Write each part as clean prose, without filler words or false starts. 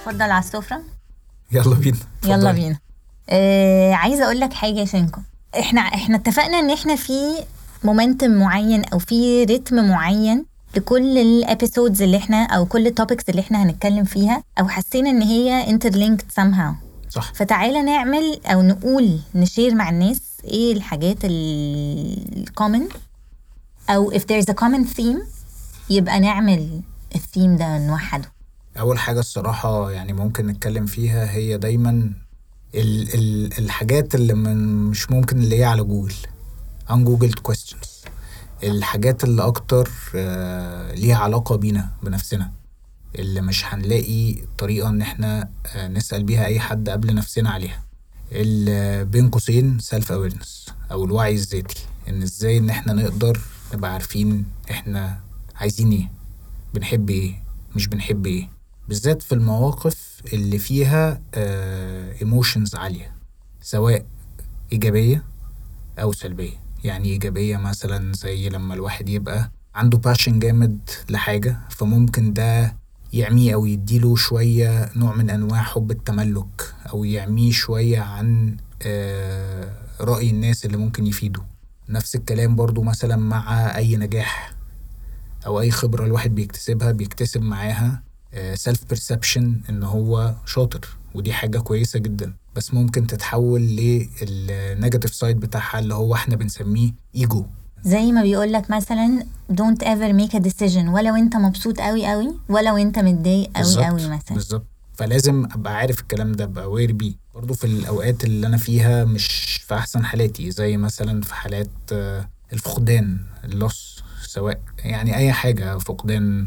اتفضل على السفرة. يلا بينا. يلا بينا. عايزة اقول لك حاجة يا شنكو. احنا اتفقنا ان احنا في مومنتم معين او في رتم معين لكل الابيسودز اللي احنا او كل التوبكس اللي احنا هنتكلم فيها، او حسينا ان هي interlinked somehow. صح. فتعالى نعمل او نقول نشير مع الناس ايه الحاجات الكومن، او if there's a common theme يبقى نعمل الثيم ده نوحده. اول حاجه الصراحه يعني ممكن نتكلم فيها هي دايما الحاجات اللي مش ممكن اللي هي على جوجل ungoogled questions، الحاجات اللي اكتر ليها علاقه بينا بنفسنا، اللي مش هنلاقي طريقه ان احنا نسال بيها اي حد قبل نفسنا عليها، اللي بين قوسين self awareness او الوعي الذاتي، ان ازاي ان احنا نقدر نبقى عارفين احنا عايزين ايه، بنحب ايه، مش بنحب ايه، بالذات في المواقف اللي فيها emotions عالية، سواء إيجابية أو سلبية. يعني إيجابية مثلا زي لما الواحد يبقى عنده passion جامد لحاجة، فممكن ده يعميه أو يديله شوية نوع من أنواع حب التملك، أو يعميه شوية عن رأي الناس اللي ممكن يفيده. نفس الكلام برضو مثلا مع أي نجاح أو أي خبرة الواحد بيكتسب معاها self perception إن هو شاطر، ودي حاجة كويسة جدا، بس ممكن تتحول للنيجاتيف سايد بتاعها اللي هو احنا بنسميه ايجو. زي ما بيقولك مثلا don't ever make a decision ولو انت مبسوط قوي قوي ولو انت متضايق قوي قوي مثلا. بالظبط. فلازم ابقى عارف الكلام ده، ابقى aware بيه برضو في الاوقات اللي انا فيها مش في احسن حالاتي، زي مثلا في حالات الفقدان، اللوس، سواء يعني اي حاجة، فقدان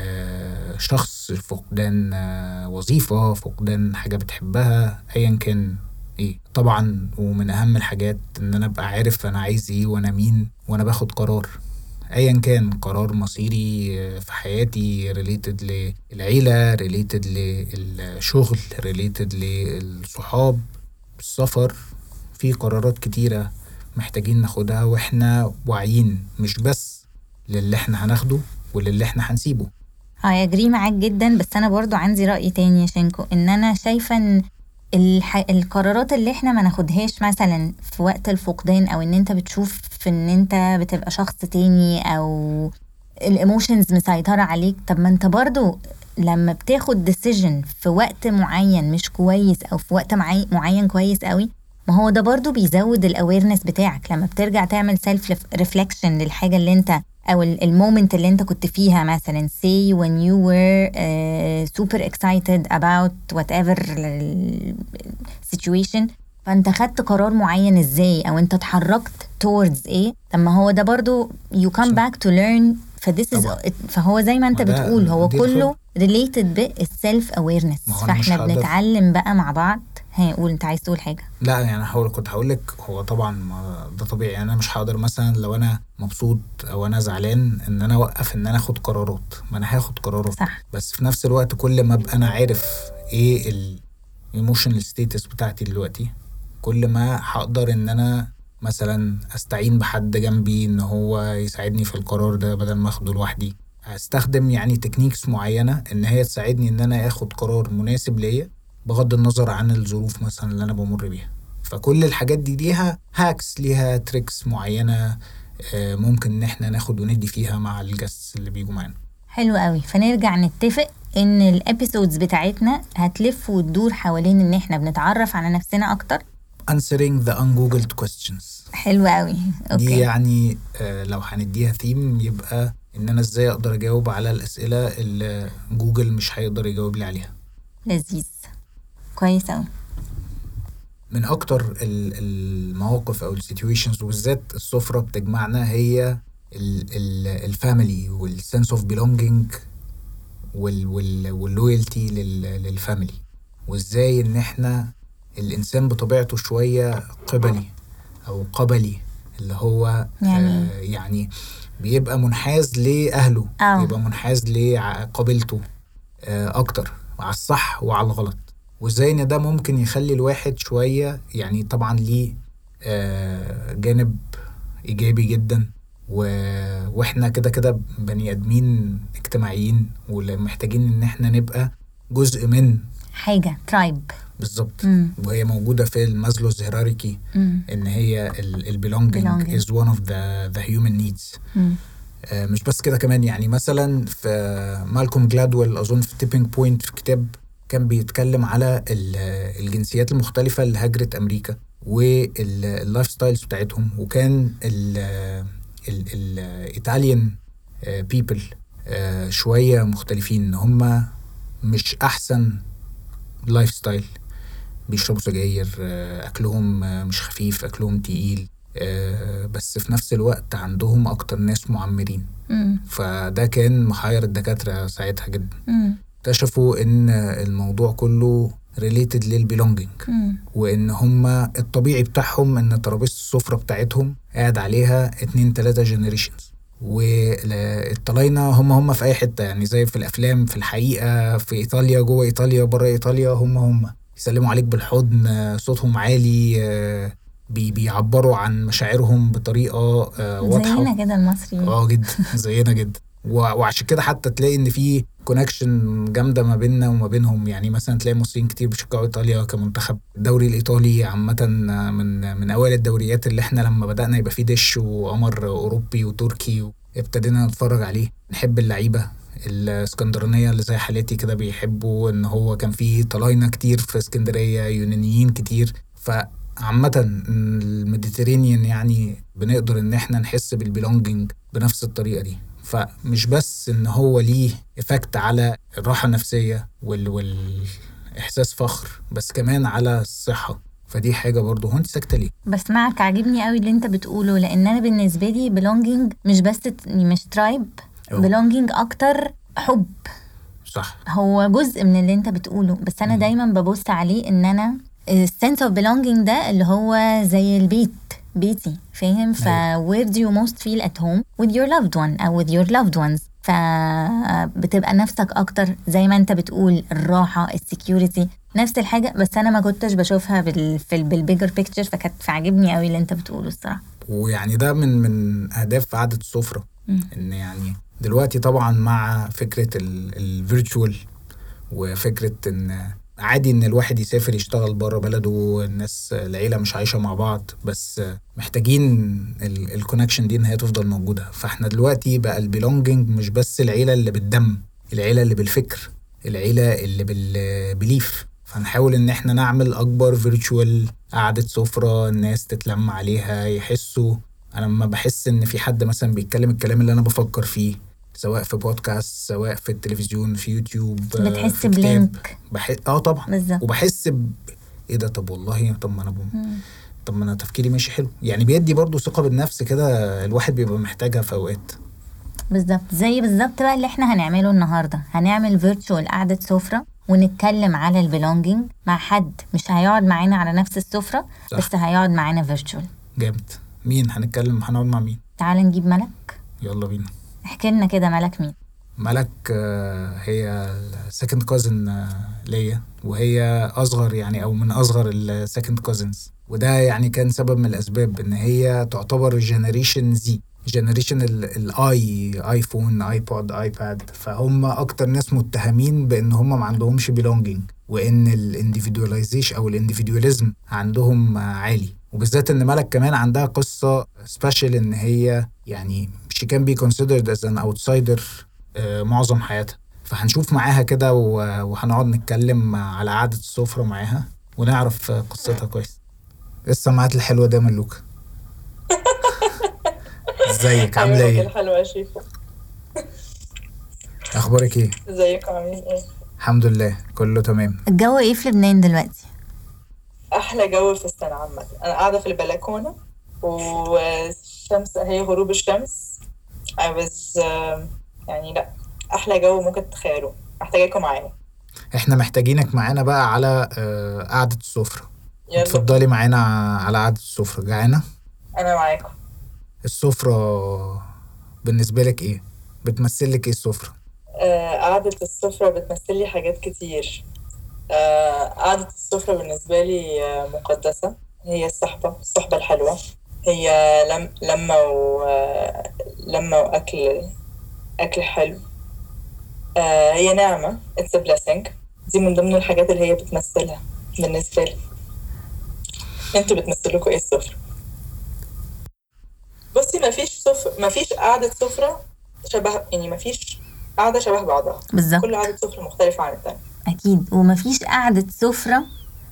شخص، فقدان وظيفة، فقدان حاجة بتحبها، ايا كان ايه. طبعا ومن اهم الحاجات ان انا ابقى عارف انا عايز ايه وانا مين وانا باخد قرار، ايا كان قرار مصيري في حياتي، ريليتد للعيلة، ريليتد للشغل، ريليتد للصحاب، السفر. في قرارات كتيرة محتاجين ناخدها واحنا واعيين، مش بس للي احنا هناخده وللي احنا هنسيبه. اجري معاك جدا، بس انا برضو عندي رأي تاني يا شنكو، ان انا شايفة ان القرارات اللي احنا ما ناخدهاش مثلا في وقت الفقدان، او ان انت بتشوف في ان انت بتبقى شخص تاني او الايموشنز مسيطرة عليك. طب ما انت برضو لما بتاخد ديسيجن في وقت معين مش كويس او في وقت معين كويس قوي، ما هو ده برضو بيزود الاويرنس بتاعك. لما بترجع تعمل سيلف ريفلكشن للحاجة اللي انت او المومنت اللي انت كنت فيها، مثلا say when you were super excited about whatever situation، فانت خدت قرار معين ازاي، او انت اتحركت towards ايه. طب ما هو ده برضو you come back to learn. فهو زي ما انت بتقول هو كله related بالself awareness. فاحنا بنتعلم بقى مع بعض. هقول انت عايز تقول حاجه؟ لا يعني كنت هقول لك، هو طبعا ده طبيعي، يعني انا مش هقدر مثلا لو انا مبسوط او انا زعلان ان انا اوقف ان انا اخد قرارات، ما انا هاخد قرارات صح. بس في نفس الوقت كل ما ابقى انا عارف ايه الايموشنال ستيتس بتاعتي دلوقتي، كل ما هقدر ان انا مثلا استعين بحد جنبي ان هو يساعدني في القرار ده بدل ما اخده لوحدي. هستخدم يعني تكنيكس معينة ان هي تساعدني ان انا اخد قرار مناسب ليا بغض النظر عن الظروف مثلا اللي انا بمر بيها. فكل الحاجات دي ليها هاكس، ليها تريكس معينة ممكن ان احنا ناخد وندي فيها مع الجاست اللي بيجوا معانا. حلو قوي. فنرجع نتفق ان الابيسودز بتاعتنا هتلف وتدور حوالين ان احنا بنتعرف على نفسنا اكتر. answering the ungoogled questions. حلو قوي. اوكي. دي يعني لو هنديها ثيم يبقى ان انا ازاي اقدر اجاوب على الاسئلة اللي جوجل مش هيقدر يجاوب لي عليها. لذيذ. كويس قوي. من اكتر المواقف او السيتويشنز، وبالذات السفرة بتجمعنا، هي الفاميلي والسنس اوف بيلونجينج واللويالتي للفاميلي، وازاي ان احنا الانسان بطبيعته شوية قبلي او قبلي، اللي هو يعني بيبقى منحاز لأهله، بيبقى منحاز لقبيلته اكتر على الصح وعلى الغلط، وازاي ان ده ممكن يخلي الواحد شوية يعني طبعا ليه جانب ايجابي جدا، واحنا كده بني ادمين اجتماعيين ومحتاجين ان احنا نبقى جزء من حاجة ترايب بالظبط. وهي موجودة في المازلوز هيراركي ان هي belonging is one of the human needs. مش بس كده كمان، يعني مثلا في مالكوم جلادويل اظن في تيبينج بوينت في كتاب كان بيتكلم على الجنسيات المختلفة اللي هاجرت امريكا واللايف ستايلز بتاعتهم، وكان الايطاليان بيبل شوية مختلفين، ان هم مش احسن لايف ستايل، بيشربوا سجاير، اكلهم مش خفيف، اكلهم تقيل، بس في نفس الوقت عندهم اكتر ناس معمرين. فده كان محير الدكاترة ساعتها جدا. اكتشفوا ان الموضوع كله related للبيلونجينج، وان هما الطبيعي بتاعهم ان ترابيزة السفرة بتاعتهم قاعد عليها 2-3 generations، والطلاينة هم في اي حتة، يعني زي في الافلام، في الحقيقة في ايطاليا، جوه ايطاليا، بره ايطاليا، هم يسلموا عليك بالحضن، صوتهم عالي، بيعبروا عن مشاعرهم بطريقة واضحة، زينا كده المصريين. جدا زينا جدا. وعشان كده حتى تلاقي ان في كونكشن جامده ما بيننا وما بينهم. يعني مثلا تلاقي مصريين كتير بيشجعوا ايطاليا كمنتخب. الدوري الايطالي عامه من اوائل الدوريات اللي احنا لما بدانا يبقى فيه دش وقمر اوروبي وتركي ابتدينا نتفرج عليه، نحب اللعيبه الاسكندرانيه اللي زي حالتي كده، بيحبوا ان هو كان فيه طلاينه كتير في اسكندريه، يونانيين كتير. عامة الميديترينيان يعني بنقدر ان احنا نحس بالبيلونجينج بنفس الطريقة دي. فمش بس ان هو ليه افكت على الراحة النفسية والاحساس فخر، بس كمان على الصحة. فدي حاجة برضو. هو انت ساكتة ليه؟ بسمعك، عاجبني قوي اللي انت بتقوله، لان انا بالنسبة لي belonging مش بس مش ترايب، belonging اكتر حب. صح، هو جزء من اللي انت بتقوله، بس انا دايما ببص عليه ان انا sense of belonging ده اللي هو زي البيت، بيتي، فاهم؟ where do you most feel at home with your loved one أو with your loved ones. فبتبقى نفسك أكتر زي ما أنت بتقول، الراحة، السكيورتي، نفس الحاجة. بس أنا ما كنتش بشوفها بالبيجر بيكتشر، فكانت فعجبني قوي اللي أنت بتقوله الصراحة. ويعني ده من أهداف عادة السفرة، إن يعني دلوقتي طبعا مع فكرة الفيرتشوال، وفكرة إن عادي ان الواحد يسافر يشتغل بره بلده، الناس العيلة مش عايشة مع بعض، بس محتاجين الكونكشن دي ان هي تفضل موجودة. فاحنا دلوقتي بقى البيلونجينج مش بس العيلة اللي بالدم، العيلة اللي بالفكر، العيلة اللي بالبليف. فنحاول ان احنا نعمل اكبر فيرتشوال قعدة سفرة الناس تتلم عليها، يحسوا. انا لما بحس ان في حد مثلا بيتكلم الكلام اللي انا بفكر فيه، سواء في بودكاست، سواء في التلفزيون، في يوتيوب، بتحس بلينك. طبعا بالزبط. وبحس ايه ده، طب والله، طب ما انا تفكيري ماشي حلو. يعني بيدي برضو ثقة بالنفس كده، الواحد بيبقى محتاجها في اوقات. بالظبط، زي بالظبط بقى اللي احنا هنعمله النهارده. هنعمل فيرتشوال قعدة سفرة ونتكلم على البيلونجينج مع حد مش هيقعد معانا على نفس السفرة، بس هيقعد معانا فيرتشوال. جامد. مين هنتكلم؟ هنقعد مع مين؟ تعال نجيب ملك. يلا بينا. احكي لنا كده، ملك مين؟ ملك هي second cousin ليا، وهي أصغر يعني، أو من أصغر second cousins. وده يعني كان سبب من الأسباب إن هي تعتبر جنريشن زي، جنريشن ايفون، ايبود، ايباد. فهم أكتر ناس متهمين بإن هم ما عندهمش belonging، وإن الانديفيدواليزيشن أو الانديفيدواليزم عندهم عالي. وبالذات إن ملك كمان عندها قصة سبيشال، إن هي يعني she can be considered as an outsider معظم حياتها. فهنشوف معاها كده وهنقعد نتكلم على قعدة السفرة معاها ونعرف قصتها كويس. السماعات الحلوة ده ملوكة. ازيك؟ عاملة ايه؟ الحلوة يا شيفو. اخبارك ايه؟ ازيك؟ عاملين ايه؟ الحمد لله كله تمام. الجو ايه في لبنان دلوقتي؟ احلى جو في السنة عامة. انا قاعدة في البلكونة والشمس، هي غروب الشمس. يعني لا، احلى جو ممكن تتخيلوا. محتاجاكم معايا. احنا محتاجينك معانا بقى على قعدة السفرة. اتفضلي معانا على قعدة السفرة. جعانة؟ انا معاكم. السفرة بالنسبة لك ايه؟ بتمثل لك ايه السفرة؟ قعدة السفرة بتمثل لي حاجات كتير. قعدة السفرة بالنسبة لي مقدسة. هي الصحبة الحلوة، هي لما وأكل حلو. هي نعمة. It's a blessing. دي من ضمن الحاجات اللي هي بتمثلها بالنسبة لي. انتوا بتمثلوكوا ايه السفرة؟ بصي مفيش قعدة سفرة شبه، يعني مفيش قعدة شبه بعضها بالظبط. كل قعدة سفرة مختلفة عن التانية اكيد. ومفيش قعدة سفرة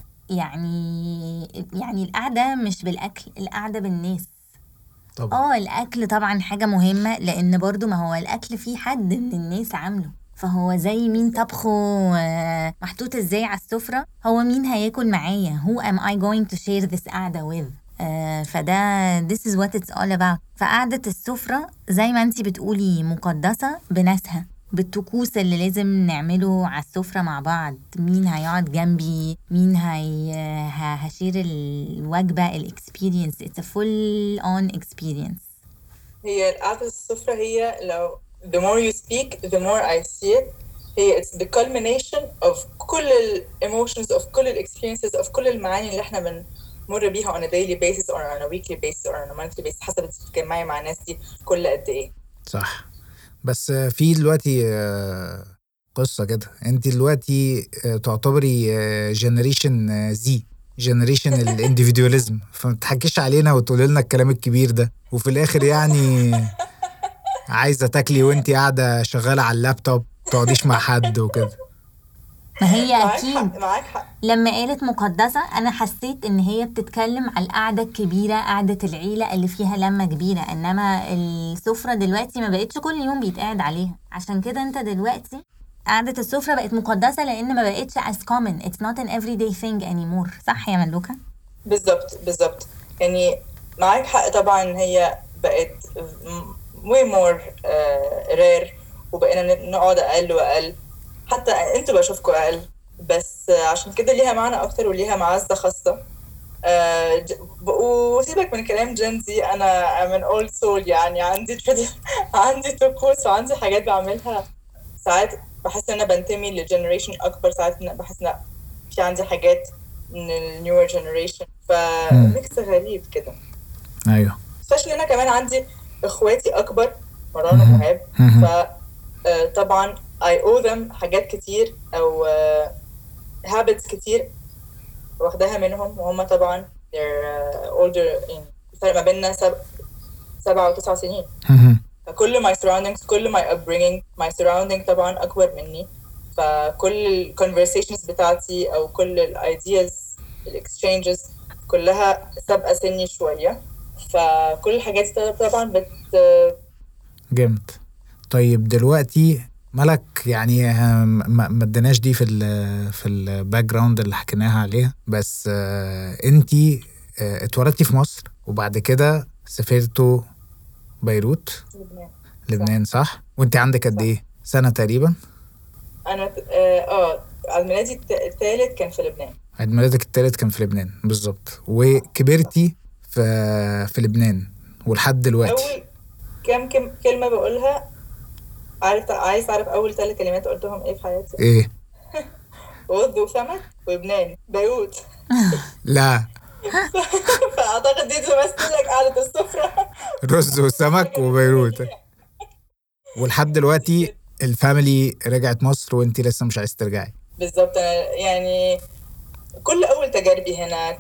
يعني القعدة مش بالاكل، القعدة بالناس. طبعا الاكل طبعا حاجة مهمة، لان برضو ما هو الاكل فيه حد من الناس عامله، فهو زي مين طبخه محطوط ازاي على السفرة، هو مين هياكل معايا، who am I going to share this قعدة with. فده this is what it's all about. فقعدة السفرة زي ما انتي بتقولي مقدسة بناسها، بالطقوس اللي لازم نعمله على السفرة مع بعض، مين هيقعد جنبي، مين هشير الوجبة، الاكسبيرينس. it's a full on experience. هي قعدة السفرة هي لو the more you speak the more I see it. هي it's the culmination of كل ال emotions of كل ال experiences of كل المعاني اللي احنا بنمر بيها on a daily basis or on a weekly basis or on a monthly basis، حسب انت بتتجمعي مع الناس دي كل قد ايه. صح. بس في دلوقتي قصة كده، انت دلوقتي تعتبري جنريشن زي، جنريشن الانديفيدواليزم، فما تحكيش علينا وتقولي لنا الكلام الكبير ده وفي الاخر يعني عايزة تاكلي وانت قاعدة شغالة على اللابتوب، تقعديش مع حد وكده. ما هي معاك اكيد حق معاك حق. لما قالت مقدسة أنا حسيت إن هي بتتكلم على القعدة الكبيرة، قعدة العيلة اللي فيها لمة كبيرة، إنما السفرة دلوقتي ما بقتش كل يوم بيتقعد عليها. عشان كده أنت دلوقتي قعدة السفرة بقت مقدسة لأن ما بقتش as common. it's not an everyday thing anymore. صح يا ملوكة؟ بالظبط يعني معاك حق طبعا. هي بقت way more rare، وبقينا نقعد أقل وأقل، حتى انتوا بشوفكوا أقل، بس عشان كده ليها معنى أكتر وليها معزة خاصة. وسيبك من كلام جنزي، أنا من old soul، يعني عندي طقوس وعندي حاجات بعملها. ساعات بحس إن أنا بنتمي لجنريشن أكبر، ساعات بحس إن في عندي حاجات من النيور جنريشن، فميكس غريب كده. ايوه. especially أنا كمان عندي إخواتي أكبر، مروان ومهاب، فطبعا I owe them حاجات كتير أو habits كتير واخداها منهم، وهم طبعا they're older، الفرق ما بيننا 7 و9 سنين. فكل my surroundings، كل my upbringing، my surrounding طبعا أكبر مني، فكل ال conversations بتاعتي أو كل ال ideas ال exchanges كلها سابقة سني شوية، فكل الحاجات طبعا جامد. طيب دلوقتي ملك، يعني ما اديناش دي في الباك جراوند اللي حكيناها عليها، بس انتي اتولدتي في مصر وبعد كده سافرتوا بيروت، لبنان صح؟ وانت عندك قد ايه سنة تقريبا؟ انا عيد ميلادي الثالث كان في لبنان. عيد ميلادك الثالث كان في لبنان بالظبط، وكبرتي في لبنان ولحد دلوقتي. اول كم كلمة بقولها، عايز تعرف اول 3 كلمات قلتهم ايه في حياتي؟ ايه؟ رز وسمك ولبنان بيروت. لا فاعتقد دي تمثل لك قعدة السفرة. رز وسمك وبيروت. ولحد دلوقتي الفاميلي رجعت مصر وانتي لسه مش عايز ترجعي. بالظبط. انا يعني كل اول تجاربي هنا،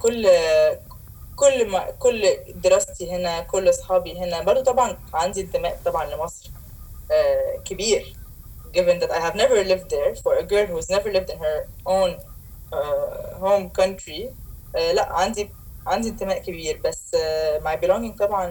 كل دراستي هنا، كل اصحابي هنا، برضو طبعا عندي انتماء طبعا لمصر كبير، given that I have never lived there. For a girl who's never lived in her own home country، لا عندي انتماء كبير، بس my belonging طبعا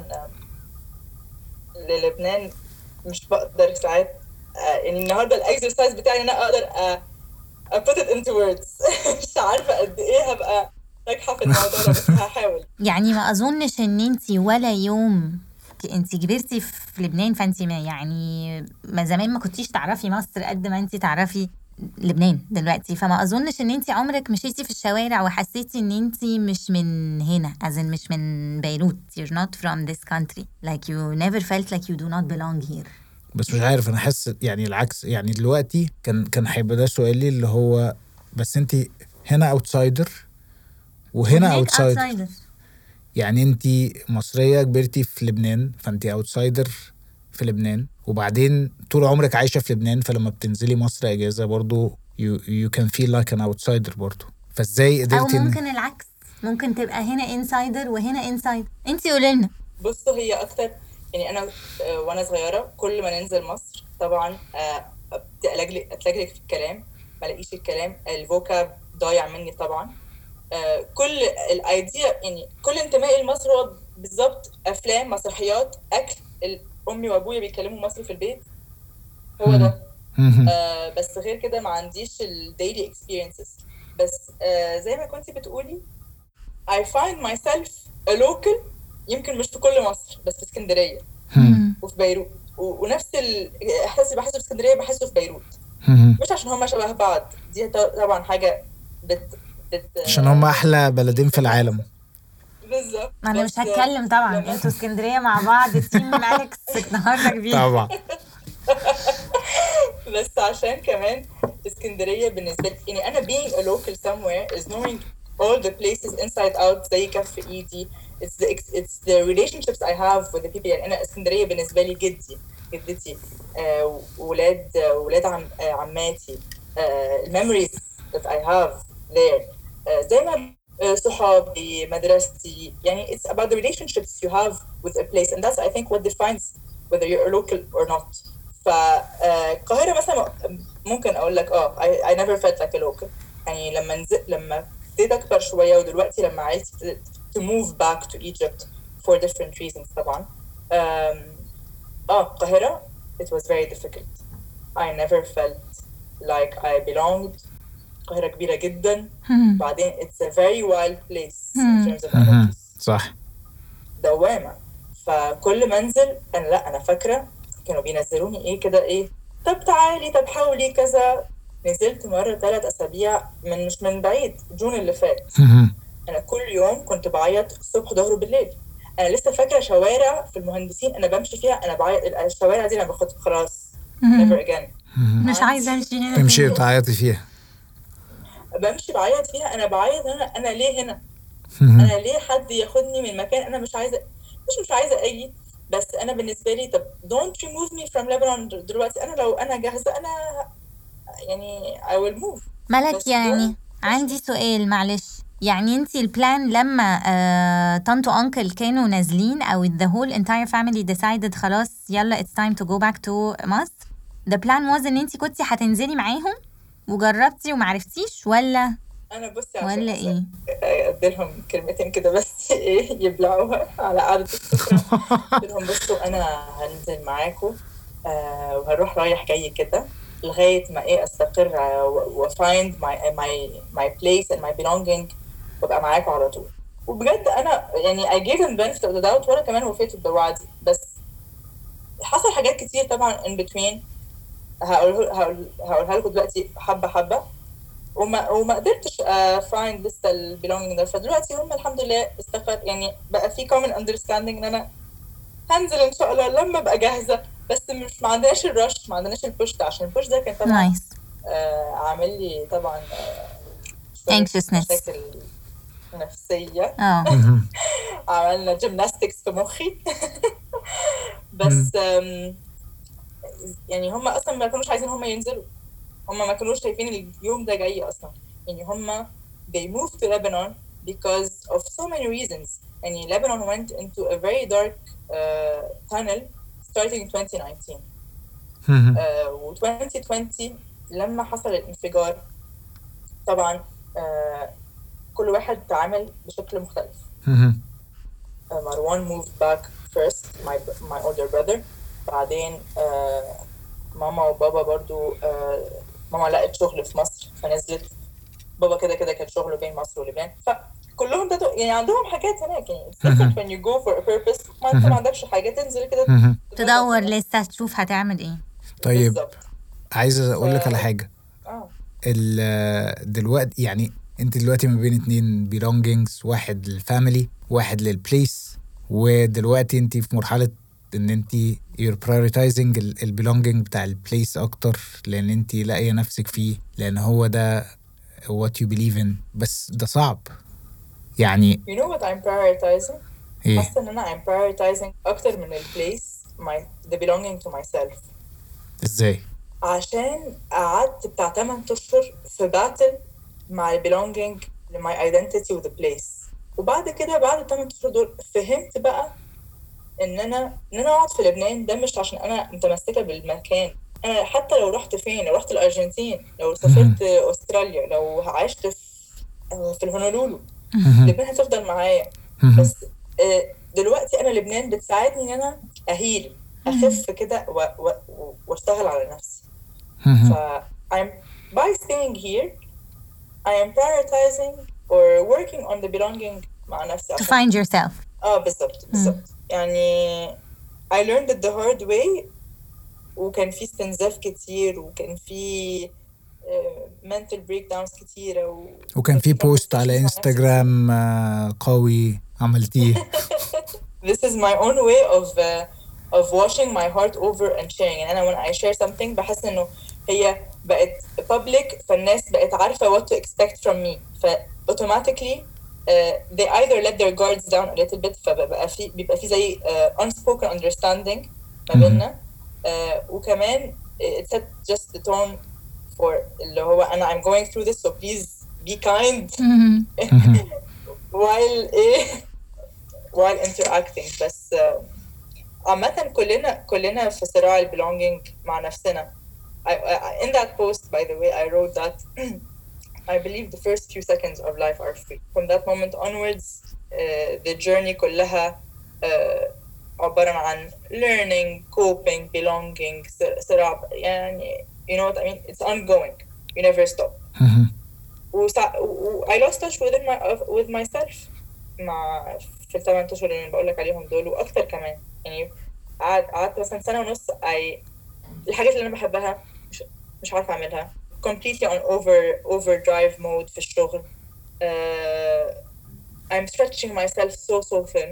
للبنان مش بقدر ساعات يعني النهارده الاكسرسايز بتاعي ان انا اقدر put it into words. مش عارفه قد ايه هبقى ناجحه في الموضوع ده، بس هحاول. يعني ما اظنش ان انتي ولا يوم انتي كبرتي في لبنان، فانتي ما زمان ما كنتيش تعرفي مصر قد ما انتي تعرفي لبنان دلوقتي، فما اظنش ان انتي عمرك مشيتي في الشوارع وحسيتي ان انتي مش من هنا، مش من بيروت. you're not from this country, like you never felt like you do not belong here. بس مش عارف، انا حاسس يعني العكس. يعني دلوقتي كان هيبقى ده سؤالي، اللي هو بس انتي هنا اوتسايدر وهنا اوتسايدر. يعني انتي مصرية كبرتي في لبنان، فانتي اوتسايدر في لبنان، وبعدين طول عمرك عايشة في لبنان، فلما بتنزلي مصر اجازة برضو you can feel like an outsider برضو. فازاي او قدرتي ممكن العكس، ممكن تبقى هنا انسايدر وهنا انسايدر. انتي قولي لنا. بصوا هي اكتر يعني انا وانا صغيره كل ما ننزل مصر طبعا اتلجلج في الكلام، ما الاقيش الكلام، الفوكاب ضايع مني طبعا. كل الايديا يعني كل انتمائي لمصر هو بالظبط افلام، مسرحيات، اكل، امي وابويا بيتكلموا مصري في البيت، هو ده. بس غير كده ما عنديش الديلي experiences. بس زي ما كنتي بتقولي I find myself a local، يمكن مش في كل مصر بس في اسكندرية وفي بيروت، ونفس الإحساس اللي بحسه في اسكندرية بحسه في بيروت. مش عشان هما شبه بعض، دي طبعا حاجة عشان هم أحلى بلدين في العالم. بالظبط. ما أنا مش هتكلم طبعا، انتوا اسكندرية مع بعض تيم أليكس النهارده كبير طبعا. بس عشان كمان اسكندرية بالنسبة لي يعني أنا being a local somewhere is knowing all the places inside out زي كف إيدي. It's the relationships I have with the people. يعني أنا اسكندرية بالنسبة لي جدتي، ولاد عماتي، memories that I have there. زي ما صحابي، مدرستي، يعني it's about the relationships you have with a place, and that's I think what defines whether you're a local or not. فالقاهرة مثلا ممكن أقول لك I never felt like a local. يعني لما ابتديت أكبر شوية ودلوقتي لما عايزت to move back to Egypt for different reasons طبعا. القاهرة it was very difficult. I never felt like I belonged. القاهرة كبيرة جدا. بعدين it's a very wild place in terms of energies. صح. دوامة. فكل منزل أنا فاكرة كانوا بينزلوني ايه كده، ايه طب تعالي، طب حاولي كذا. نزلت مرة 3 أسابيع مش من بعيد، جون اللي فات. أنا كل يوم كنت بعيط الصبح ظهر وبالليل. أنا لسه فاكرة شوارع في المهندسين أنا بمشي فيها، أنا بعيط الشوارع دي أنا باخد خلاص never again. مش عايزة أمشي هنا. تمشي تعيطي فيها. بمشي بعيط فيها، أنا بعيط أنا ليه هنا؟ أنا ليه حد ياخدني من مكان أنا مش عايزة أجي؟ بس أنا بالنسبة لي طب don't remove me from Lebanon دلوقتي. أنا لو أنا جاهزة أنا يعني I will move. ملك يعني عندي سؤال معلش، يعني انتي البلان لما طنط وانكل كانوا نازلين او the whole entire family decided خلاص يلا it's time to go back to مصر، the plan was ان انتي كنتي هتنزلي معاهم وجربتي ومعرفتيش ولا بصي ولا ايه؟ اديلهم كلمتين كده بس ايه يبلعوها على قعدة السفرة. اديلهم بصوا انا هنزل معاكم وهروح رايح جاي كده لغاية ما ايه استقر وfind my place and my belonging وابقى معاكم على طول. وبجد انا يعني I gave them benefit of the doubt وانا كمان وفيت بوعدي. بس حصل حاجات كتير طبعا in between هقولها لكم دلوقتي حبة وما قدرتش find لسه البيلونجينج ده. فدلوقتي هم الحمد لله استقر، يعني بقى في common understanding ان انا هنزل ان شاء الله لما ابقى جاهزه. بس مش ما عندناش الرش، ما عندناش البوش ده، عشان البوش ده كان طبعا عامل لي طبعا anxiousness نفسيه. عملنا جيمناستكس في مخي. بس يعني هم اصلا ما كانوش عايزين هم ينزلوا، هم ما كانوش شايفين اليوم ده جاي اصلا. يعني هم they moved to Lebanon because of so many reasons. يعني Lebanon went into a very dark tunnel starting in 2019. و 2020 لما حصل الانفجار طبعا كل واحد تعامل بشكل مختلف. مروان moved back first, my older brother. بعدين ماما وبابا برضو ماما لقت شغل في مصر فنزلت. بابا كده كان شغله بين مصر ولبنان. فكلهم ده يعني عندهم حاجات هناك. يعني it's different when you go for a purpose. ما انت ما عندكش حاجة تنزل كده تدور لسه تشوف هتعمل ايه. طيب بالزبط. عايزة اقول لك على حاجة. دلوقتي يعني انت دلوقتي ما بين 2 belongings، واحد للفاميلي واحد للبليس، ودلوقتي انت في مرحلة ان انت you're prioritizing البيلونجينج بتاع البليس اكتر لان انت لاقيه نفسك فيه، لان هو ده what you believe in. بس ده صعب يعني. You know what I'm prioritizing؟ ايه؟ حاسه ان انا I'm prioritizing اكتر من البليس the belonging to myself. ازاي؟ عشان قعدت بتاع 8 اشهر في باتل مع البيلونجينج لماي ايدنتيتي وذا بليس. وبعد كده بعد 8 اشهر دول فهمت بقى ان انا اقعد في لبنان ده مش عشان انا متمسكه بالمكان. انا حتى لو رحت فين، لو رحت الارجنتين، لو سافرت استراليا، لو عشت في الهونولولو، لبنان هتفضل معايا. بس دلوقتي انا لبنان بتساعدني ان انا اهيل، اخف كده واشتغل على نفسي. ف I'm by staying here I am prioritizing or working on the belonging مع نفسي to find yourself. بالظبط يعني I learned it the hard way. وكان في استنزاف كتير، وكان في mental breakdowns كتيرة، وكان في بوست على انستغرام قوي عملتيه. This is my own way of washing my heart over and sharing. يعني أنا when I share something بحس إنه هي بقت public، فالناس بقت عارفة what to expect from me، automatically they either let their guards down a little bit، بيبقى في زي unspoken understanding ما بيننا. وكمان it set just the tone for اللي هو أنا I'm going through this so please be kind while interacting. بس عامة كلنا في صراع belonging مع نفسنا. In that post, by the way, I wrote that I believe the first few seconds of life are free. From that moment onwards, the journey كلها عبارة عن learning, coping, belonging, صراع يعني you know what I mean. It's ongoing. You never stop. I lost touch with myself في ال8 اشهر اللي بقول لك عليهم دول واكتر كمان. يعني قعدت مثلا سنة ونص الحاجات اللي انا بحبها مش عارفة اعملها. completely on overdrive mode في الشغل. I'm stretching myself so thin.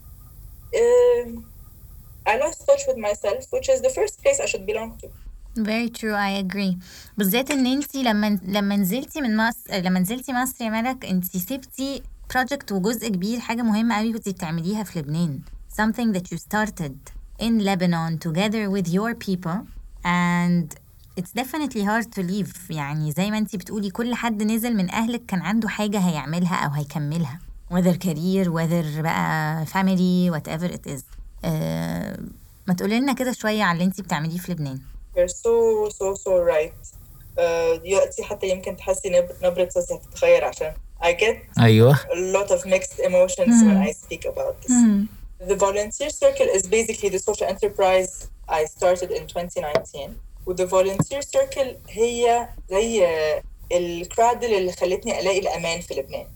I lost touch with myself, which is the first place I should belong to. Very true, I agree. بالذات ان انتي لما نزلتي من مصر، يا ملك، انتي سبتي project وجزء كبير، حاجة مهمة قوي كنتي بتعمليها في لبنان. Something that you started in Lebanon together with your people, and it's definitely hard to leave. يعني زي ما انتي بتقولي كل حد نزل من أهلك كان عنده حاجة هيعملها أو هيكملها، whether career whether بقى family whatever it is. ما تقولي لنا كده شوية على اللي انتي بتعمليه في لبنان. You're so right. دلوقتي حتى يمكن تحسي نبرة صوتي هتتغير عشان I get a lot of mixed emotions when I speak about this. The volunteer circle is basically the social enterprise I started in 2019. with the volunteer circle هي زي الكرادل اللي خلتني ألاقي الأمان في لبنان.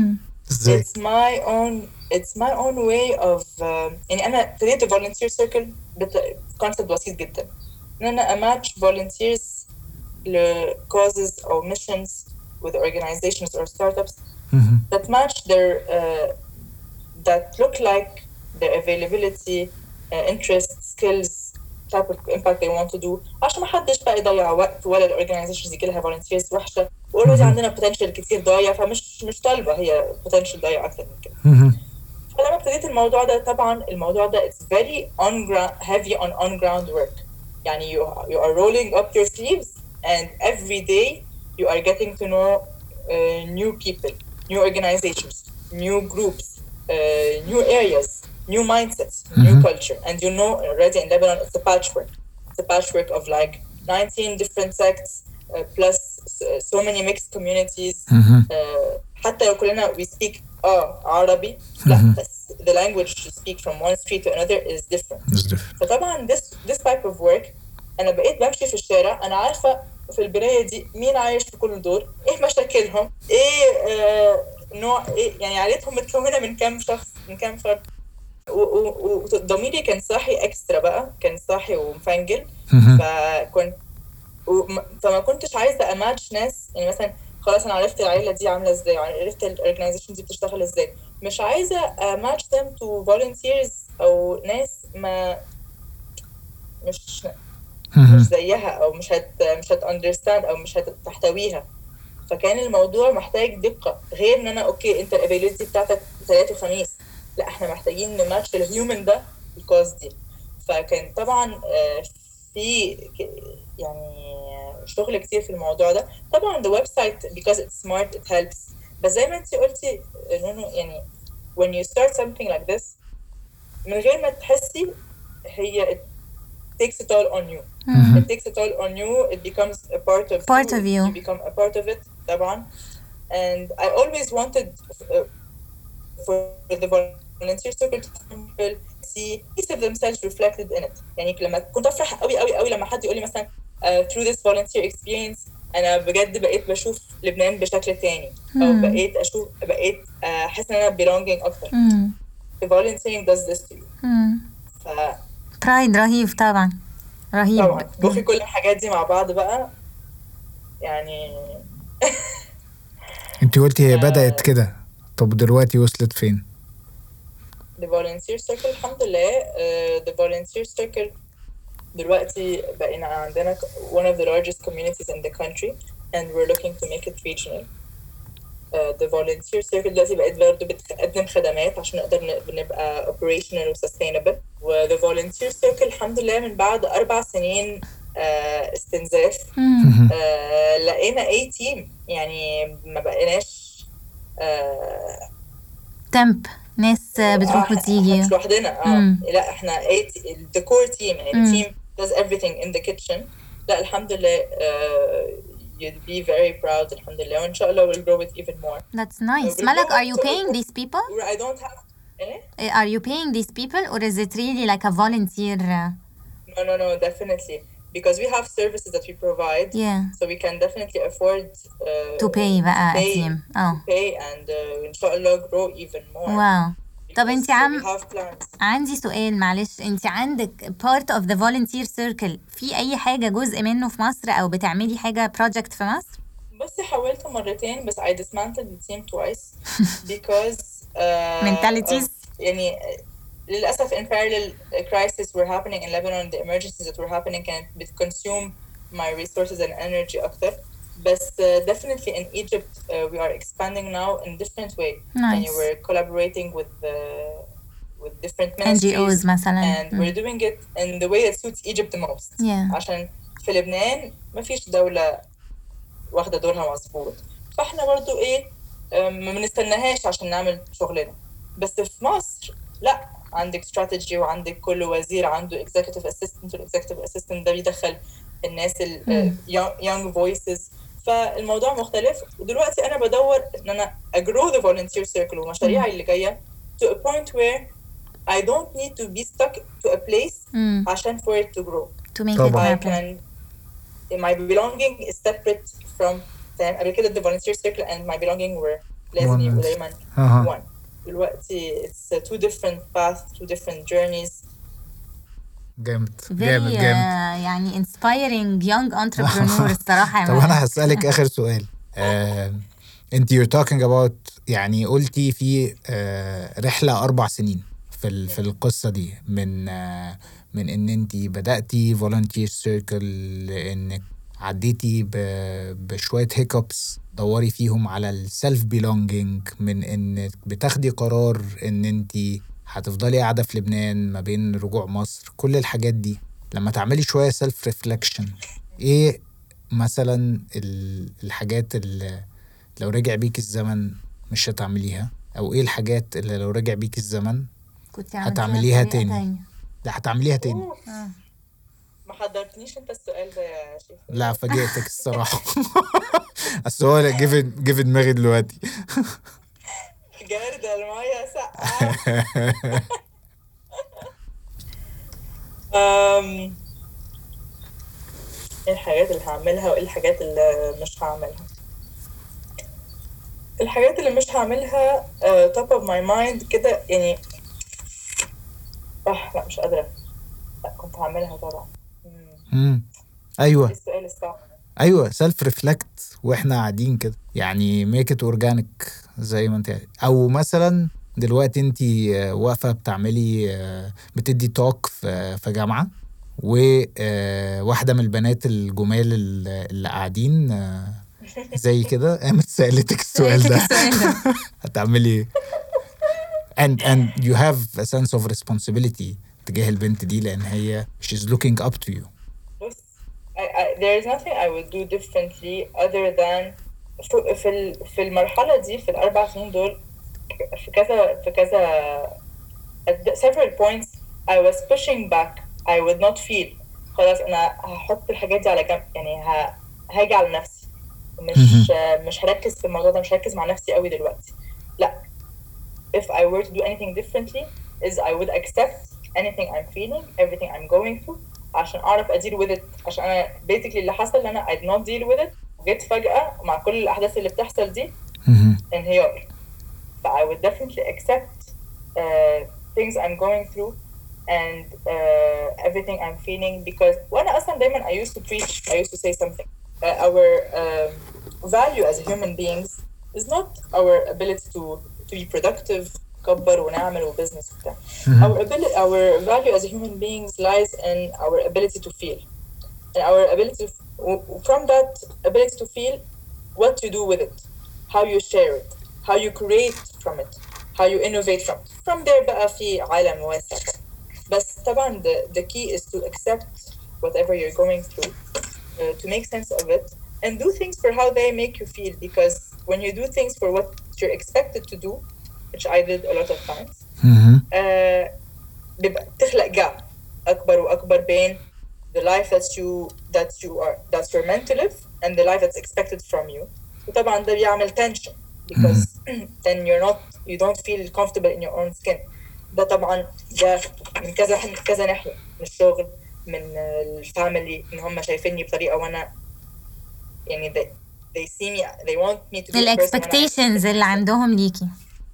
It's my own way of يعني أنا ابتديت the volunteer circle concept بسيط جدا، إن أنا match volunteers ل causes or missions with organizations or startups that match their that look like their availability, interests, skills, type of impact they want to do. عشان ما حدش بقى يضيع وقت ولا الorganizations يجي لها volunteers وحشة. already عندنا potential كتير ضايع، فمش طالبة هي potential ضايع أكتر من كده. فلما ابتديت الموضوع ده، طبعا الموضوع ده it's very heavy on ground work. يعني you are rolling up your sleeves and every day you are getting to know new people, new organizations, new groups, new areas, new mindsets, new culture. And you know already in Lebanon it's a patchwork of like 19 different sects plus so many mixed communities. حتى لو كلنا we speak عربي، لا بس the language to speak from one street to another is different. فطبعا this type of work أنا بقيت بمشي في الشارع، أنا عارفة في البراية دي مين عايش في كل دور، إيه مشاكلهم، إيه نوع، إيه يعني عائلتهم متكونة من كام شخص، من كام فرد. وضميري كان صاحي اكسترا بقى، كان صاحي ومفنجل. فما كنتش عايزه اماتش ناس، يعني مثلا خلاص انا عرفت العائله دي عامله ازاي، عرفت الاورجنايزيشن دي بتشتغل ازاي، مش عايزه اماتش them to volunteers او ناس ما مش زيها او مش هت understand او مش هتحتويها. فكان الموضوع محتاج دقه، غير ان انا اوكي انت الابيليتي بتاعتك 3 وخميس، لا احنا محتاجين نماتش الهيومن ده الكوز دي. فكان طبعا في يعني شغل كتير في الموضوع ده. طبعا the website because it's smart it helps، بس زي ما انت قلتي نونو يعني when you start something like this من غير ما تحسي هي it takes it all on you. It takes it all on you. It becomes a part of you. You become a part of it طبعا. And I always wanted for the volunteer circle to see piece of themselves reflected in it. يعني لما كنت أفرح قوي لما حد يقول لي مثلا through this volunteer experience أنا بجد بقيت بشوف لبنان بشكل تاني، أو بقيت أحس إن أنا belonging أكتر. The volunteering does this to you. برايد رهيب طبعا، رهيب طبعا. وفي كل الحاجات دي مع بعض بقى يعني انت قلتي هي بدأت كده، طب دلوقتي وصلت فين؟ The volunteer circle الحمد لله the volunteer circle دلوقتي بقينا عندنا one of the largest communities in the country and we're looking to make it regional. The volunteer circle دلوقتي بقت برضه بتقدم خدمات عشان نقدر نبقى operational و sustainable. و the volunteer circle الحمد لله من بعد 4 سنين استنزاف لقينا A team، يعني ما بقيناش temp ناس بتروح وتيجي مش لوحدنا. لا احنا the core team يعني the team does everything in the kitchen. لا الحمد لله you'd be very proud الحمد لله، وإن شاء الله we'll grow it even more. That's nice. Malak, are you paying these people? I don't have Are you paying these people or is it really like a volunteer? No, definitely. Because we have services that we provide, so we can definitely afford to pay بقى a team. Pay and إن شاء الله grow even more. Wow. طب انت عندي سؤال معلش، انت عندك part of the volunteer circle في اي حاجة جزء منه في مصر او بتعملي حاجة project في مصر؟ بصي حاولت مرتين بس I dismantled the team twice because mentalities يعني للأسف in parallel crises were happening in Lebanon. The emergencies that were happening كانت بتconsume my resources and energy أكتر. بس definitely in Egypt we are expanding now in different way. Nice. And we're collaborating with different ministries NGOs مثلا. and we're doing it in the way that suits Egypt the most. عشان في لبنان ما فيش دولة واخدة دورها مظبوط، فاحنا برضو ما بنستناهاش عشان نعمل شغلنا. بس في مصر لا، عندك strategy وعندك كل وزير عنده executive assistant، والexecutive assistant ده بيدخل الناس young voices، فالموضوع مختلف. ودلوقتي أنا بدور إن أنا grow the volunteer circle ومشاريعي اللي جاية to a point where I don't need to be stuck to a place عشان for it to grow. To make it happen. My belonging is separate from them. قبل كده the volunteer circle and my belonging were لازم يبقوا دايما one. دلوقتي it's two different paths, two different journeys. جامد يعني inspiring young entrepreneur الصراحة. طب أنا هسألك آخر سؤال. أنت you're talking about يعني قلتي في رحلة 4 سنين في القصة دي من إن أنت بدأتي volunteer circle لإنك عديتي بشوية hiccups دوري فيهم على السلف belonging، من إنك بتاخدي قرار إن أنت هتفضلي قاعدة في لبنان ما بين رجوع مصر. كل الحاجات دي لما تعملي شوية self reflection إيه مثلا الحاجات اللي لو رجع بيك الزمن مش هتعمليها، أو إيه الحاجات اللي لو رجع بيك الزمن هتعمليها تاني؟ لا هتعمليها تاني. ما حضرتنيش انت السؤال ده يا شيخ. لا فاجئتك الصراحة. السؤال جه في دماغي دلوقتي. جاردة المية ساقعة. ايه الحاجات اللي هعملها وايه الحاجات اللي مش هعملها؟ الحاجات اللي مش هعملها top of my mind كده يعني لا مش قادرة. لا كنت هعملها طبعا. ايوه السؤال الصعب. ايوه سيلف ريفلكت واحنا قاعدين كده، يعني ميك ات اورجانيك زي ما انت. او مثلا دلوقتي انت واقفه بتعملي بتدي توك في جامعه، وواحده من البنات الجمال اللي قاعدين زي كده قامت سألتك السؤال ده هتعملي and you have a sense of responsibility تجاه البنت دي لان هي she's looking up to you. بص there is nothing I would do differently other than في المرحلة دي في ال4 سنين دول في كذا at several points I was pushing back. I would not feel خلاص أنا هحط الحاجات دي على جنب يعني هاجي على نفسي مش هركز في الموضوع ده مش هركز مع نفسي قوي دلوقتي لا if I were to do anything differently is I would accept anything I'm feeling everything I'm going through عشان أعرف أدير with it عشان أنا basically اللي حصل إن أنا I did not deal with it جيت فجأة مع كل الأحداث اللي بتحصل دي انهيار ف I would definitely accept things I'm going through and everything I'm feeling because وأنا أصلا دايما I used to preach I used to say something our value as human beings is not our ability to be productive كبر ونعمل وبزنس وبتاع our value as human beings lies in our ability to feel and our ability from that ability to feel what you do with it how you share it how you create from it how you innovate from there بقى في عالم واسع بس طبعا the key is to accept whatever you're going through to make sense of it and do things for how they make you feel because when you do things for what you're expected to do which I did a lot of times بيبقى تخلق gap أكبر وأكبر بين the life that's you're meant to live and the life that's expected from you وطبعا ده بيعمل tension because then you don't feel comfortable in your own skin ده طبعا ده من كذا ناحية من الشغل من الفاميلي إن هم شايفيني بطريقة وأنا يعني they see me they want me to be the expectations اللي عندهم ليكي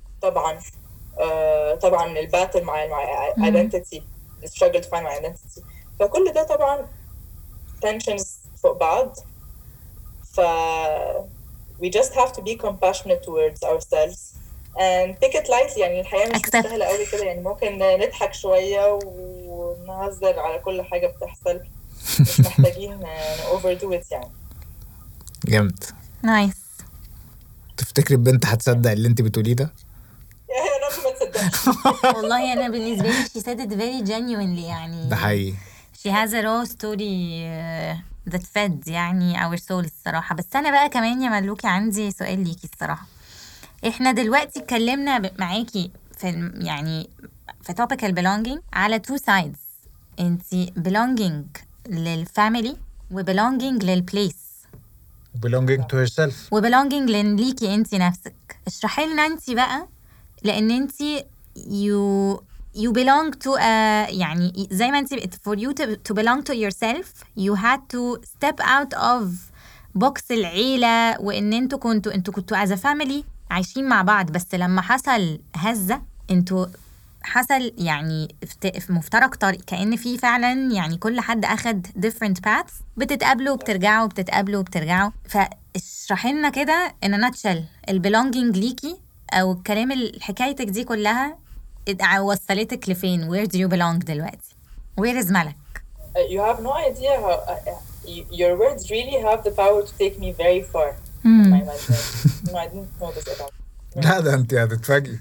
طبعا الباتل مع identity the struggle to find my identity فكل ده طبعا tensions فوق بعض ف we just have to be compassionate towards ourselves and take it lightly يعني الحياة مش مستاهلة قوي كده يعني ممكن نضحك شوية ونهزر على كل حاجة بتحصل مش محتاجين overdo it يعني جامد نايس تفتكري البنت هتصدق اللي انت بتقوليه ده؟ يا رب ما تصدقش والله أنا بالنسبة لي she said it very genuinely يعني ده حقيقي she has a raw story that fed يعني our soul الصراحة بس أنا بقى كمان يا ملوكي عندي سؤال ليكي الصراحة إحنا دلوقتي اتكلمنا معاكي يعني في topic belonging على two sides انتي belonging للفاميلي و belonging للبليس belonging to yourself و belonging ليكي انتي نفسك اشرحي لنا انتي بقى لأن انتي you belong to يعني زي ما انتي for you to belong to yourself you had to step out of box العيلة وإن انتوا كنتوا as a family عايشين مع بعض بس لما حصل هزة انتوا حصل يعني في مفترق طريق كأن في فعلا يعني كل حد أخد different paths بتتقابلوا وبترجعوا بتتقابلوا وبترجعوا فاشرحي لنا كده in a nutshell البelonging ليكي أو الكلام حكايتك دي كلها وصلتك لفين where do you belong دلوقتي where is ملك you have no idea how your words really have the power to take me very far my imagination no I didn't know this about لا ده انت هتتفاجئي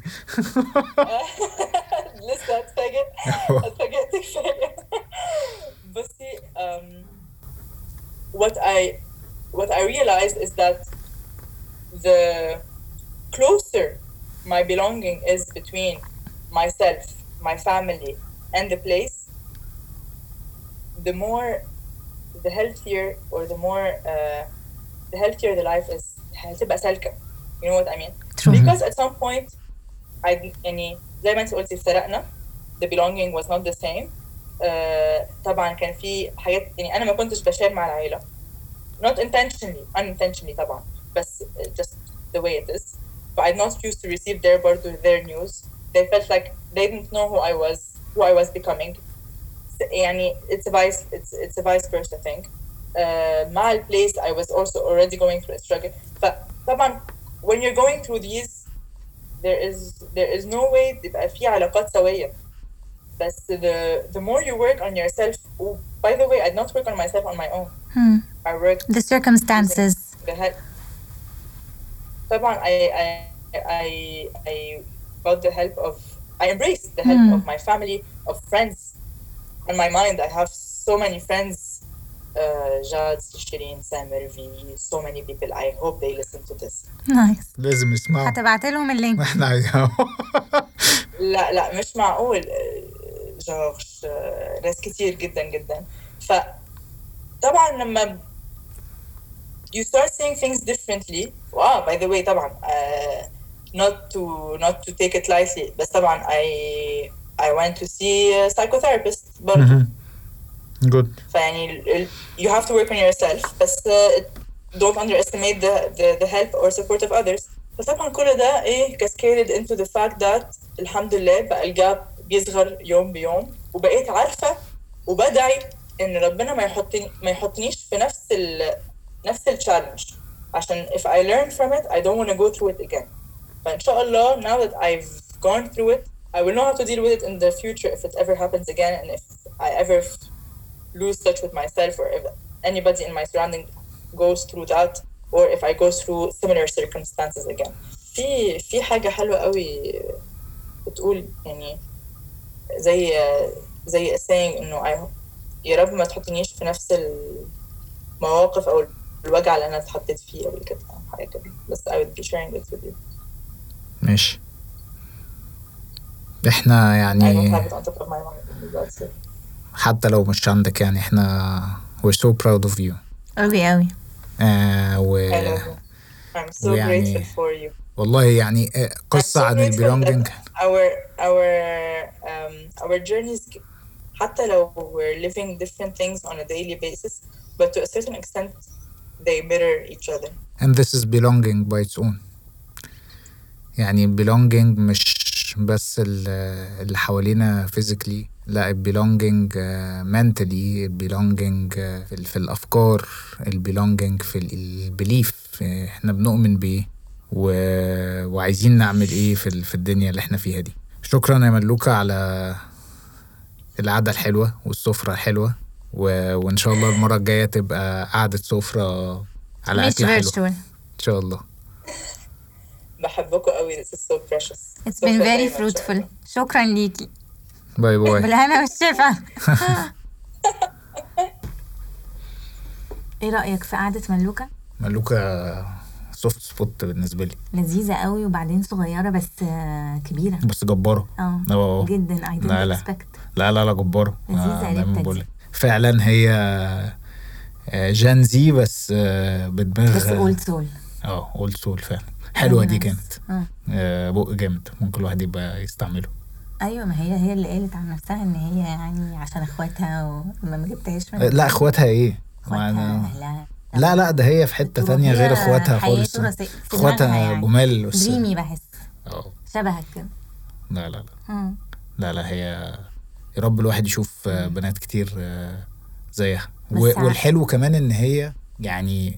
لسه هتفاجئ كفاية بصي what I realized is that the closer my belonging is between myself, my family, and the place, the healthier or the healthier the life is. هتبقى سالكة. You know what I mean? True. Because at some point, يعني زي ما انت قلتي افترقنا. The belonging was not the same. طبعا كان في حاجات يعني أنا ما كنتش بشار مع العائلة. Not intentionally, unintentionally طبعا. بس just the way it is. But I not used to receive their news. They felt like they didn't know who I was becoming. يعني it's a vice versa thing. مع البليس I was also already going through a struggle. فطبعا when you're going through these there is no way تبقى في علاقات سوية. بس the more you work on yourself. By the way, I did not work on myself on my own. I worked the circumstances. طبعا I got the help of I embraced the help of my family, of friends. On my mind, I have so many friends Jad, Shirin, Samer, V, so many people. I hope they listen to this. نايس. لازم يسمعوا. هتبعت لهم اللينك. احنا لا مش معقول. جورج ناس كتير جدا جدا. فطبعا لما you start seeing things differently. wow, by the way طبعا not to take it lightly, بس طبعا I went to see a psychotherapist برضو. good. فيعني you have to work on yourself, بس don't underestimate the help or support of others. فطبعا كل ده cascaded into the fact that الحمد لله بقى الجاب بيصغر يوم بيوم، وبقيت عارفة وبدعي إن ربنا ما يحطنيش في نفس الchallenge، عشان if I learn from it I don't want to go through it again. فإن شاء الله now that I've gone through it I will know how to deal with it in the future if it ever happens again, and if I ever lose touch with myself, or if anybody in my surrounding goes through that, or if I go through similar circumstances again. في حاجة حلوة قوي بتقول يعني زي saying إنه يا رب ما تحطنيش في نفس المواقف أو الوجع اللي أنا اتحطيت فيه قبل كده، حاجة كده. بس I would be sharing it with you. ماشي. احنا يعني I don't have it on top of my mind. That's it. حتى لو مش عندك يعني احنا we're so proud of you. أوي. I love you. I'm so grateful for you. والله يعني قصة عن البيلونجينج. Our journeys, حتى لو we're living different things on a daily basis, but to a certain extent they mirror each other. And this is belonging by its own. يعني belonging مش بس اللي حوالينا physically، لا belonging mentally، belonging في الأفكار، belonging في البليف احنا بنؤمن بيه وعايزين نعمل ايه في الدنيا اللي احنا فيها دي. شكرا يا ملوكة على القعدة الحلوة والسفرة الحلوة، وإن شاء الله المرة الجاية تبقى قعدة سفرة على أكل حلو إن شاء الله. بحبكم قوي. This is so precious. It's been very fruitful. شكرا ليكي. باي باي. بالهنا والشفا. ايه رأيك في قعدة ملوكة؟ ملوكة سوفت سبوت بالنسبة لي. لذيذة قوي، وبعدين صغيرة بس كبيرة. بس جبارة. جدا. I didn't expect. لا جبارة. لذيذة فعلا هي جانزي بس بدماغ. بس اولد سول. اولد سول فعلا. حلوة دي كانت. بق جامد ممكن الواحد يبقى يستعمله. ايوه، ما هي اللي قالت عن نفسها ان هي يعني عشان اخواتها وما جبتهاش من. لا اخواتها ايه؟ لا ده هي في حتة تانية غير اخواتها خالص. اخواتها يعني جمال بس دريمي بحس. شبهك كده. لا هي يا رب الواحد يشوف بنات كتير زيها. والحلو كمان ان هي يعني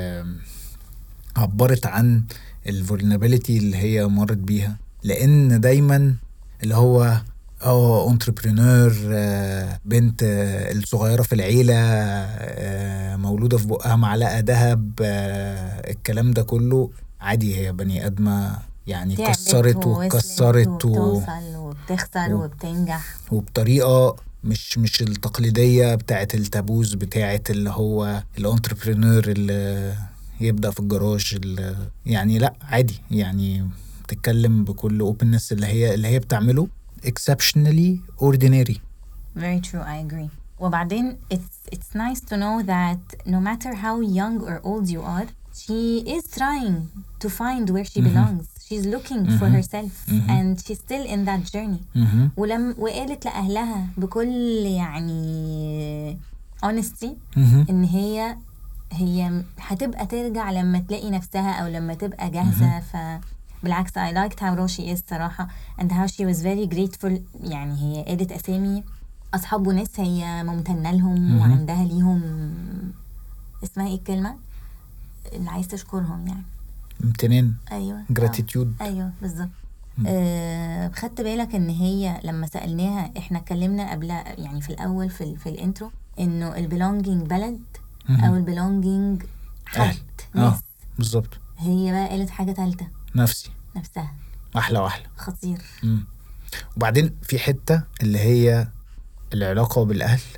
عبرت عن الفولنربيليتي اللي هي مرت بيها، لان دايما اللي هو انتربرينور، بنت الصغيرة في العيلة، مولودة في بقها معلقة ذهب، الكلام ده كله عادي. هي بني آدمة يعني كسرت وكسرت وبتوصل وبتخسر وبتنجح، وبطريقة مش التقليدية بتاعت التابوز بتاعت اللي هو الانتربرينور اللي يبدأ في الجراج. يعني لا عادي، يعني بتتكلم بكل openness اللي هي بتعمله exceptionally ordinary. Very true, I agree. وبعدين it's nice to know that no matter how young or old you are, she is trying to find where she belongs. She's looking for herself and she's still in that journey. وقالت لأهلها بكل يعني honesty إن هي هتبقى ترجع لما تلاقي نفسها أو لما تبقى جاهزة. بالعكس I liked how raw she is صراحة and how she was very grateful. يعني هي قالت أسامي أصحاب وناس هي ممتنة لهم وعندها ليهم اسمها إيه الكلمة اللي عايز تشكرهم يعني امتنان. أيوة gratitude. أيوة بالظبط. خدت بالك إن هي لما سألناها إحنا اتكلمنا قبل يعني في الأول في الانترو إنه البيلونجينج بلد أو البيلونجينج حد ناس. بالظبط. هي بقى قالت حاجة ثالثة، نفسها. أحلى خطير. وبعدين في حتة اللي هي العلاقة بالأهل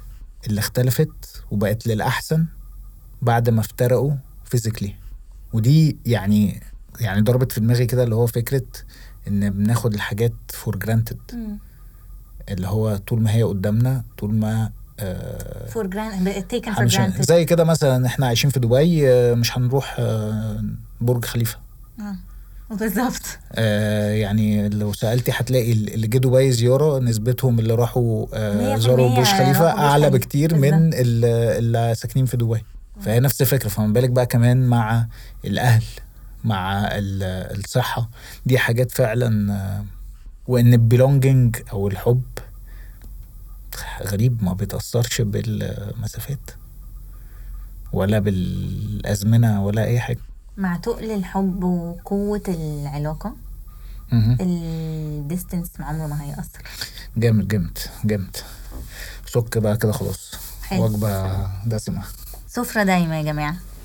اللي اختلفت وبقت للأحسن بعد ما افترقوا فيزيكلي. ودي يعني ضربت في دماغي كده اللي هو فكرة ان بناخد الحاجات فور جرانتد، اللي هو طول ما هي قدامنا، طول ما فور جرانتد زي كده مثلا احنا عايشين في دبي، مش هنروح برج خليفة. بالظبط. يعني لو سألتي هتلاقي اللي جه دبي زيارة نسبتهم اللي راحوا زاروا برج خليفة أعلى بكتير من اللي ساكنين في دبي. فهي نفس الفكرة. فما بالك بقى كمان مع الأهل، مع الصحة، دي حاجات فعلا. وإن البيلونجينج أو الحب غريب، ما بيتأثرش بالمسافات ولا بالأزمنة ولا أي حاجة. مع تقل الحب وقوة العلاقة الديستنس عمره ما هيأثر. جامد جامد جامد. سك بقى كده خلاص. وجبة دسمة، سفرة دايما يا جماعة.